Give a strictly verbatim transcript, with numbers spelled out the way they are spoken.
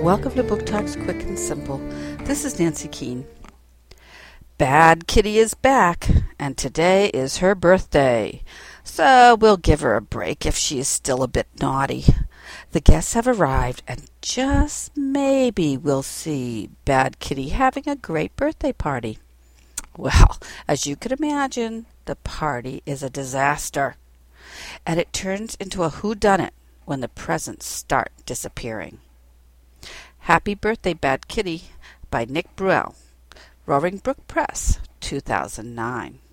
Welcome to Book Talks Quick and Simple. This is Nancy Keene. Bad Kitty is back, and today is her birthday, so we'll give her a break if she is still a bit naughty. The guests have arrived, and just maybe we'll see Bad Kitty having a great birthday party. Well, as you can imagine, the party is a disaster, and it turns into a whodunit when the presents start disappearing. Happy Birthday, Bad Kitty by Nick Bruell, Roaring Brook Press, two thousand nine.